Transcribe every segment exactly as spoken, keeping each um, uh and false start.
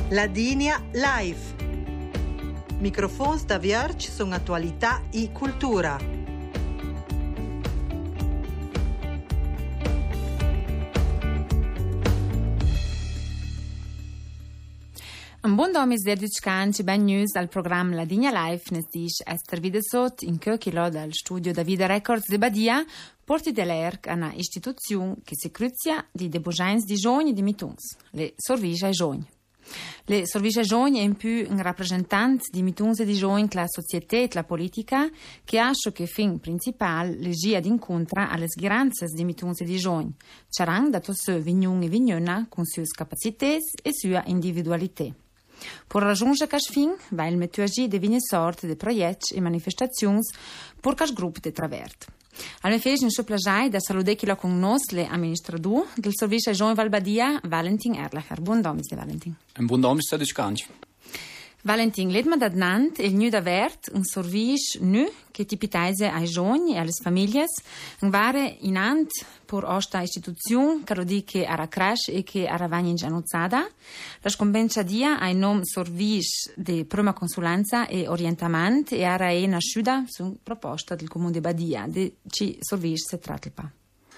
Ladinia Live. Microfons da Vierge sono attualità e cultura. Un buon domis derdic canci ben news al programma Ladinia Live nes dish Esther Videsot in Kökilo dal studio Davide Records de Badia porti dell'Erc a una istituzione che si cruzia di debogins di giovani di mituns, le Sorvisce ai giovani. Le Sorvisce ai giovani è in più un rappresentante di mituns e di giovani che la società e la politica che ha che fin principale legia d'incontra alle sghiranze di mituns e di giovani, c'erano dato se vignun e vignona con sue capacità e sua individualità. Per raggiungere questo fin, va il metodologia di vigne sorte di progetti e manifestazioni per questo gruppo di travert. Al me fece in suo plagiai da saludare chi lo conosce le amministratori del servizio Jean Valbadia, Valentin Erlacher. Buon domis de Valentin. Un buon domis de Scanci. Valentin, let me dat nant il nu davert un servizio nu che tipitaise ai giovani e alle famiglie, un vare in ant per questa istituzione che rodiche a crash e che a ravagna in gianozzada. La scombenza dia ai nom servizio di prima consulenza e orientamento e a è nasciuta su proposta del comune di Badia, di ci servizio si tratta.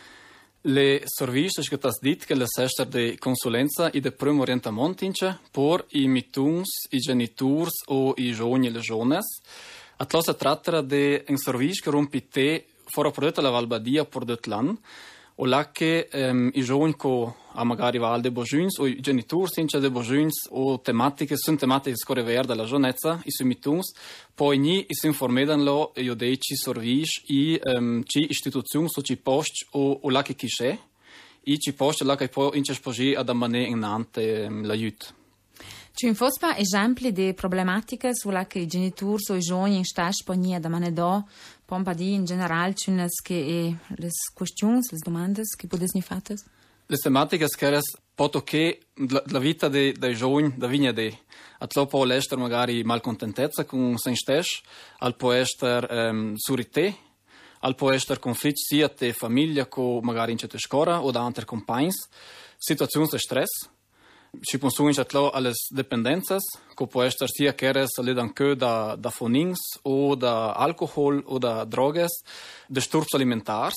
Le servizi che tas dit che le sester de consulenza e de primo orientamento ince por i mituns, i genitors o i giovani e le jones. Atlo se tratta de un servizio che rompi te fora prodotto la Valbadia por det land o la che um, i giovani co a magari val de bojuns o i genitori ince de bojuns o tematiche sono tematiche score ver della giovnezza i sui mituns poi ni i si informedanlo io dei ci servizi i um, ci istituzioni so ci post o o la che chi c'è i ci post la che poi ince spogi ad amane in ante um, l'aiut. Ci infospa esempi di problematiche sulla che i genitori o i giovani in stage pognia da manedo pompa di in generale ci che le questioni, le domande che potessi fare? Le tematiche che poto che la vita dei de giovani da vigna de atlo può essere magari malcontentezza con se stesso, al può essere um, surité, al può essere conflitti sia te famiglia co magari in certe scuola o da altri compagni, situazioni di stress. Ci pensano atlo alle dipendenze, che può essere sia che ledan che da da fonings o da alcohol o da drogas, disturbi alimentari,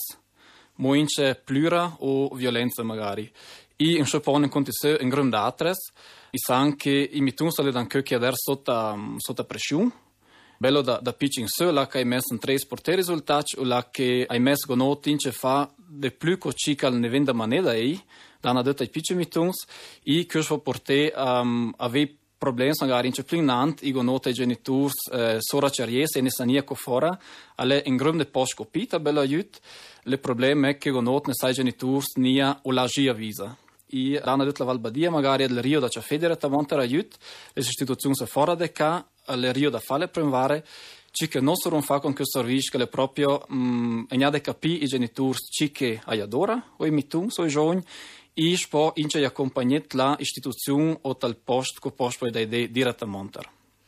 moince plura o violenza magari. I in sopone conti se in grande altres, i san che i mituns ledan che che ader sotto sotto pressione. Bello da da pitching se la che hai messo in tre sporte risultati o la che hai messo gonoti ince fa de più co cica ne venda maneda ei. Dana detta i piccoli mituns i che so porte um, ave problemi magari in ceplinant i gonota i genitori eh, sora ceries e ne sania co fora alle in grande post copita bella aiut le problemi è che gonot ne sai genitori nia o la gia visa i dana detta la Valbadia magari al Rio da c'è direttamente aiut le istituzioni se fora de ca al Rio da fare premvare ci che non solo fa con questo servizio che le proprio um, e de capi i genitori ci che ai adora o i mituns o i giovani i spo ince i accompagnet la istituzione o tal post co post poi dai de direttamente.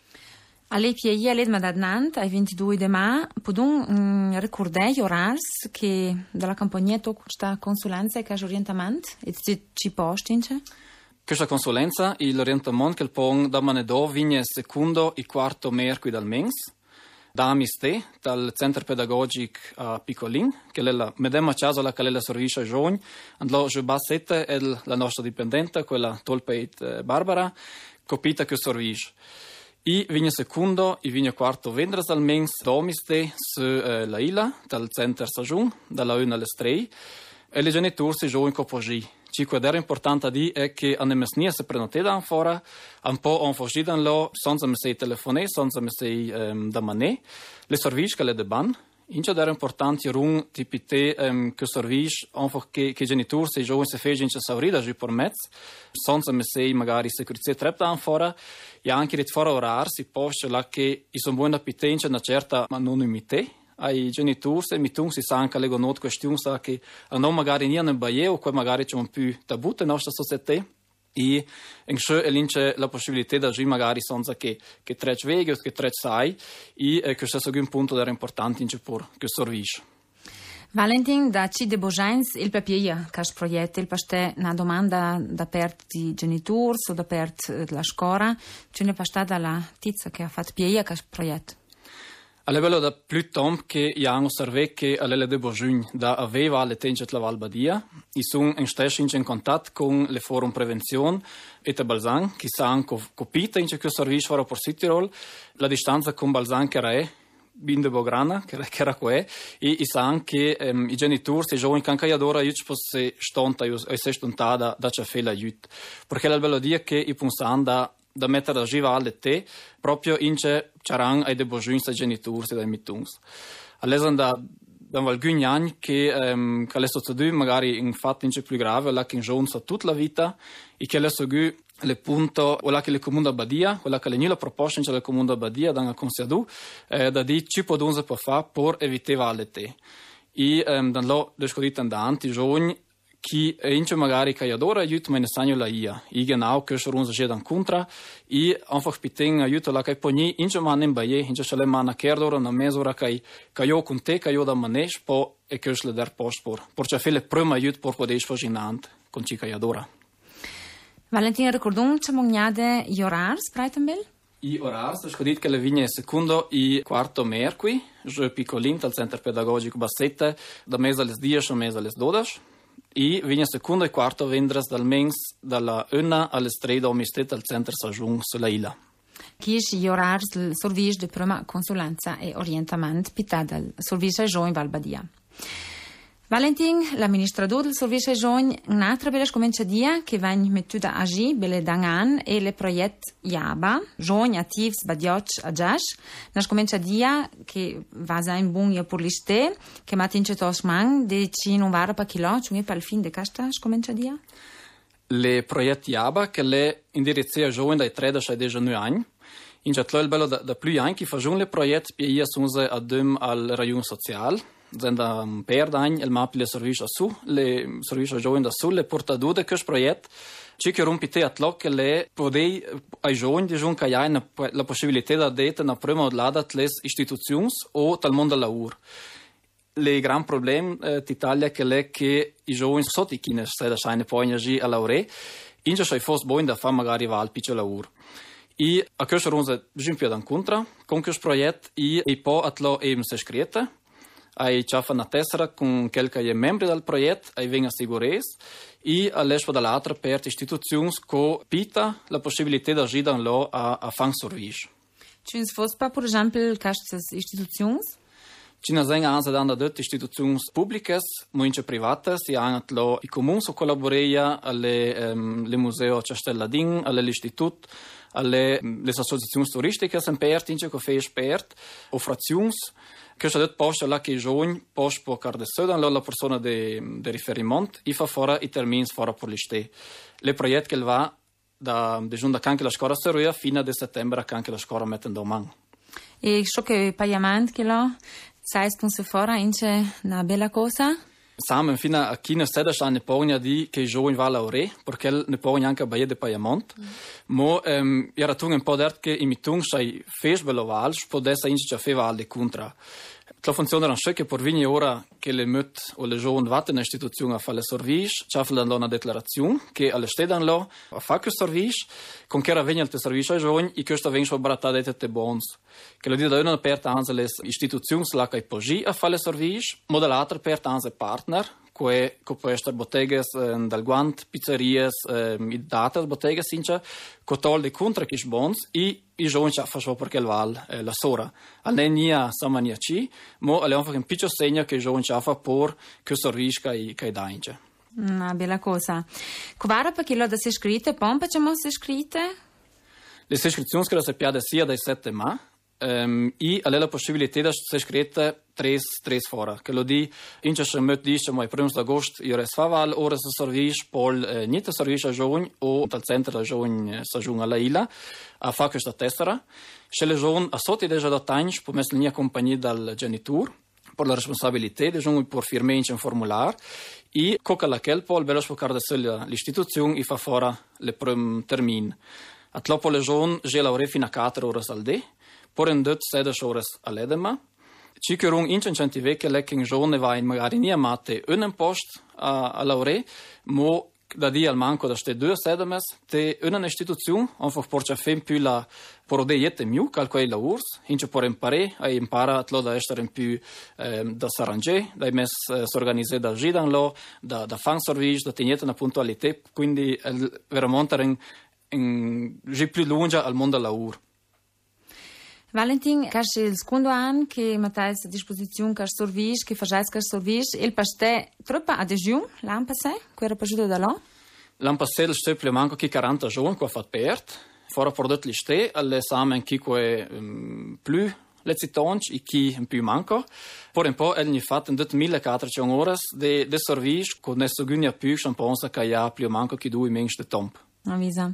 Alle pieghe alle madadnant ai ventidue de ma podun mm, ricordare orars che dalla compagnia to questa consulenza e caso orientamento e ci post ince? Questa consulenza e l'orientamento che il pon da manedo vigne secondo e quarto mercoledì dal mens. Da Amiste, dal centro pedagogico a Piccolin, che è la medesima casa la che è la servizio ai giovani, andò a Bassette è la nostra dipendente, quella Tolpeit Barbara, copita che servizio. I vigne secondo e vigne quarto vendres al mens da Amiste su eh, la Ila, dal centro Sajun, dalla una alle tre, e le genitori si giovani copogi. Ci che è importante di è che a nemesnia se prenote da fora, un po' on foggidan lo, senza me sei telefone, senza me sei um, da mané, le servizi che le deban. Ince è importante run tipite um, che servizi on che che genitori se giovani se fece in saurida gi per mezz, senza me sei magari sicurezza trep da fora, e anche di fora orar si posta la che i sono buona pitenza una certa anonimità. Ai genitori e mitung si sa anche le gonot questioni sa che non magari nie nel baie o poi magari c'è un più tabù nella nostra società e in ciò è l'ince la possibilità di agire magari senza che che tre veghi o che tre sai e questo è un punto da importante in per che servizio. Valentin, da ci de Bojans il papier che proietta il pastè una domanda da part di genitori o da part della scuola, ce ne pastà dalla tizia che ha fatto piega che proietta. A livello da più tempo che abbiamo osservato che a livello di Bojun da aveva le tenche della Val Badia, i sono in stesso in contatto con le forum prevenzione e da Balzan, che sanno capito in questo servizio per Südtirol, la distanza con Balzan che era binde bograna, che era qua, e i sanno che um, i genitori, se giovani canca adora, io ci posso stonta, io se stontata da c'è fela aiuto. Perché la bello dia che i pensano da da mettere a giva alle te, proprio in c'è c'erano ai de bojunzi ai genitori e dai mittungs. All'esempio da da alcuni anni che um, che adesso tu magari in fatto in c'è più grave, la che in giovane tutta la vita, e che adesso gu le punto o la che le comune da Badia, quella che le nila proposta in c'è le comune da Badia da una consiadu, eh, da di ci può dunze può fa per evitare alle te. E um, dan lo descodito andanti giovani chi ince magari che adora aiuto me ne sanno la ia. I genau che sono già dan contra e einfach piteng aiuto la che poni ince man in baie ince sale man kerdora na mesura che che io con te che io da manesh po e che le dar post por. Por c'è fele prima aiuto por poder sfoginant con chi che adora. Valentina ricordun c'è mognade gli orari Breitenbel? I orari, ho detto che le vigne secondo e quarto mercoledì, je piccolin al centro pedagogico Bassette, da mese alle dieci a mese alle dodici. E viene secondo e quarto vendres dal mens dalla una alle tre da omistet al centro Sajun sulla Ila. Chi è gli orari del servizio di prima consulenza e orientamento pità dal servizio Giovani Val Badia. Valentin, l'amministratore del servizio Giovani, un'altra bella comincia dia che va in mettuda agi belle dangan e le proiett Yaba, Giovani attivs badioc a Jash, nas comincia dia che va in buon per l'iste, che matin c'è tosman, de ci non vara pa chilo, cioè per il fin de casta, comincia dia? Le proiett Yaba che le indirizia Giovani dai tredici ai diciannove anni, in c'è il bello da, da più anni che fanno le proiett per ia sunze adem al rayon social. Zenda un per d'anni il map le servizio su, le servizio giovani da su, le portadure di questo progetto, ci che rompite a tlò che le podei ai giovani di giunca ja la possibilità da dete na prima odlada le istituzioni o tal mondo del lavoro. Le gran problem eh, d'Italia che le che i giovani sotto i kines se da scheine poi energie a laure, in c'è fos buon da fa magari va al piccolo lavoro. E a questo ronze giunpia da incontra con questo progetto e e poi a tlò eben se scritta. Ai ciafa una tessera con qualche membri del progetto, ai venga sicurezza e all'espo dall'altra per istituzioni che pita la possibilità di agire in lo a, a fang servizio. Ci sono per esempio queste istituzioni? Ci sono anche delle istituzioni pubbliche, molte private, si hanno i comuni che collaborano alle um, musei Castelladin, all'istituto, alle le associazioni turistiche sempre aperti, che fanno aperti, o frazioni. Questo è posto là che i giovani possono portare da la persona di riferimento e fa fuori i termini fuori per l'iste. Le progetti che va da giunta anche la scuola Seruia fino a settembre anche la scuola mettendo a mano. E ciò che il pagamento che lo sai sponsor fuori è una bella cosa? Siamo fino a chi ne sede ne pone di che i giovani va a lavorare perché ne pone anche a baia di pagamento. Mm. Ma um, era tu un po' detto che i mitung sei fes bello val, potesse inizia a fare alle contra. La funzione era che per vigni ora che le mut o le giovani vanno in istituzione a fare il servizio, ci fanno una dichiarazione che alle stedano lo a fare questo servizio, con che era venire il servizio ai giovani e questo viene sopratto da te bons. Che lo dice da una aperta anche le istituzioni la che poi a fare il servizio, ma dall'altra aperta anche partner, che può essere botteghe eh, dal guant, pizzerie, eh, date botteghe, since, che tolde contro che bons e i giovani ci fanno perché il val eh, la sora. Non è samania ci, ma è un piccolo segno che i giovani ci fanno per che servizio che che dà. Una bella cosa. Quara perché lo da si scritte, pompa ci mo si scritte? Le iscrizioni che la sappiate sia dai sette ma um, e ha la possibilità di essere scritte tre tre fora. Che lo di in c'è met dice ma il primo d'agosto io res faval ora se servizio pol eh, niente servizio a giovani o dal centro da giovani stagione alla Ila a fa questa tessera. Se le giovani a sotto deja da tanti può mettere in compagnia dal genitor per la responsabilità di giovani per firmare in un formulario e coca la quel pol bello sfocar da l'istituzione e fa fora le prim termin. A tlopo le giovani je laure fino a quattro ore al dì, por in dut sedici ore all'edema. Ci che un incentivo che le che giovane va in magari nie mate un post a, a lauree, mo da di al manco da ste due sedemes, te una istituzione, einfach porcia fem più la porode jette miu, calquei la urs, hince por impare, ai impara atlo da essere in più eh, da s'arrange, da mes eh, s'organize da gidan lo, da, da fan service, da tegnete una puntualità, quindi eh, veramente in, in, in più lunga al mondo del lavoro. Valentin, cash il secondo anno che mattais a disposizione cash service, che facais cash service, il paste troppa adesione l'anno passato, che era passato da là? L'anno passato il step manco chi quaranta giorni che ha fatto perdere, fora prodotto liste, all'esame chi che um, più le citonci e chi più manco. Per un po' egli fatto in millequattrocento ore di service con nessuno più che pensa che ha più manco che due mesi di tempo. Avvisa.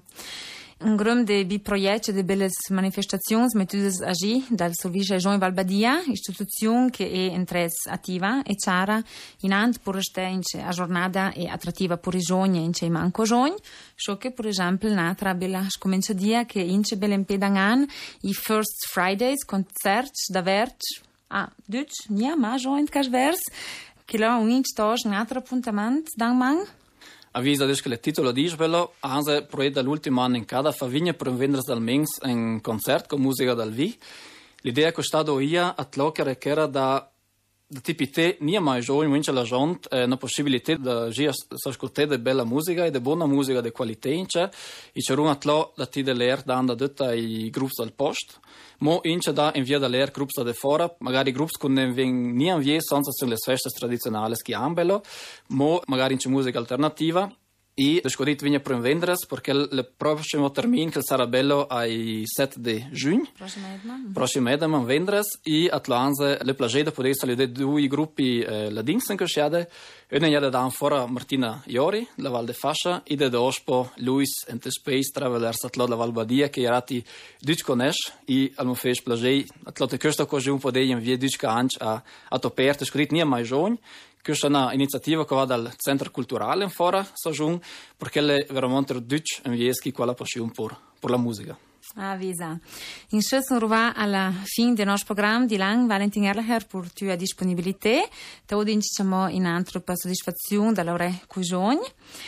Un grum de bi proiecte de belles manifestazioni mettudes agi dal Servizio Jean Valbadia, istituzione che è in tres attiva e chiara in ant per restare a giornata e attrattiva per i giovani in cei manco giovani, ciò che per esempio un'altra bella scominciadia che in ce belle impedangan i First Fridays concerts da verge ah, Deutsch, nia ma giovani cas vers che là un inch tosh un altro appuntamento dan man. Avvisa che il titolo dice bello, anche proietta dall'ultimo anno in cada favigna per vendere dal mens un concerto con musica dal vi. L'idea è stata io a tloccare che era da da tipi te, nie mai giovani, vince la gente, eh, una possibilità di ascoltare bella musica e di buona musica di qualità, e c'è un atlo da ti dell'air dando tutta i gruppi del post. Mo ince da invia dall'air gruppi da fuori, magari gruppi con ne veng nie invia senza le feste tradizionali che hanno bello, mo magari c'è musica alternativa. E descodit vinha per vendere perché il prossimo termine che sarà bello ai sette di giugno. Prossimo edema vendres e atlanze le plage da poter salire due gruppi eh, la dingsen che sciade. Una è da fora Martina Iori, la Val de Fascia, e da dospo Luis and the Space Travelers atlo la Val Badia che erati Duc conosce e al mufesh plage atlo te questa cosa un po' dei in via Duc anch a a toperte scrit nie mai giovani. Questa è un'iniziativa che va dal centro culturale in fora, Sajun, perché è veramente Duc e vieschi quella passione per, per la musica. Avvisa. In scelta arriva alla fine del nostro programma di Lang, Valentin Erlacher, per la tua disponibilità. Oggi diciamo in altro per soddisfazione dall'ore Cugioni.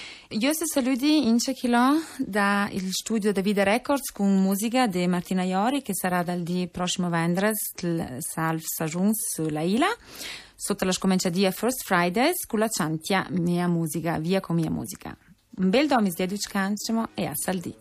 Io se saluti in Cechilò dal studio David Records con musica di Martina Iori che sarà dal di prossimo venerdì il Salve Sajun sulla Ila. Sotto la scominciadia First Fridays con la Chantia Mia Musica, via con Mia Musica. Un bel domis di educancemo e a saldi.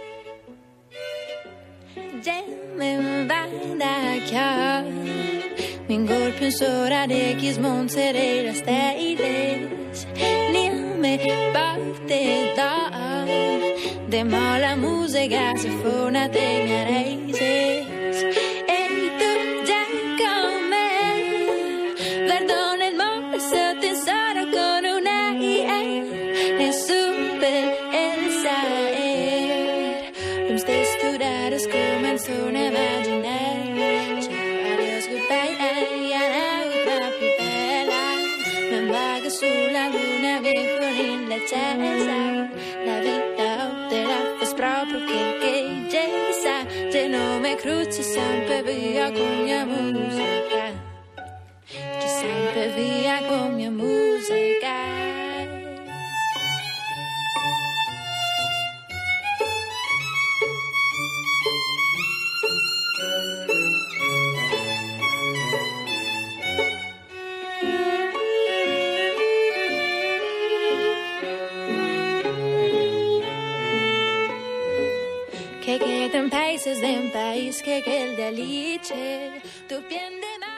Min världakar Min går pensora de kis monserera steiles Ner med bakte dag De mala musica se fona tenga reises Ei tu già con me Guardo nel mare sotto in sara con una I E super Elsa er De stesturares comenzó a imaginar Ciao, adiós, goodbye, ay, ay, papi, bella Me vaga sulla luna, mi fuori la chiesa La vita te la fes proprio che che gesa Se non mi cruci sempre via con mia musica Ci sempre via con mia musica Que queden países de un país que quede alice, tu piel de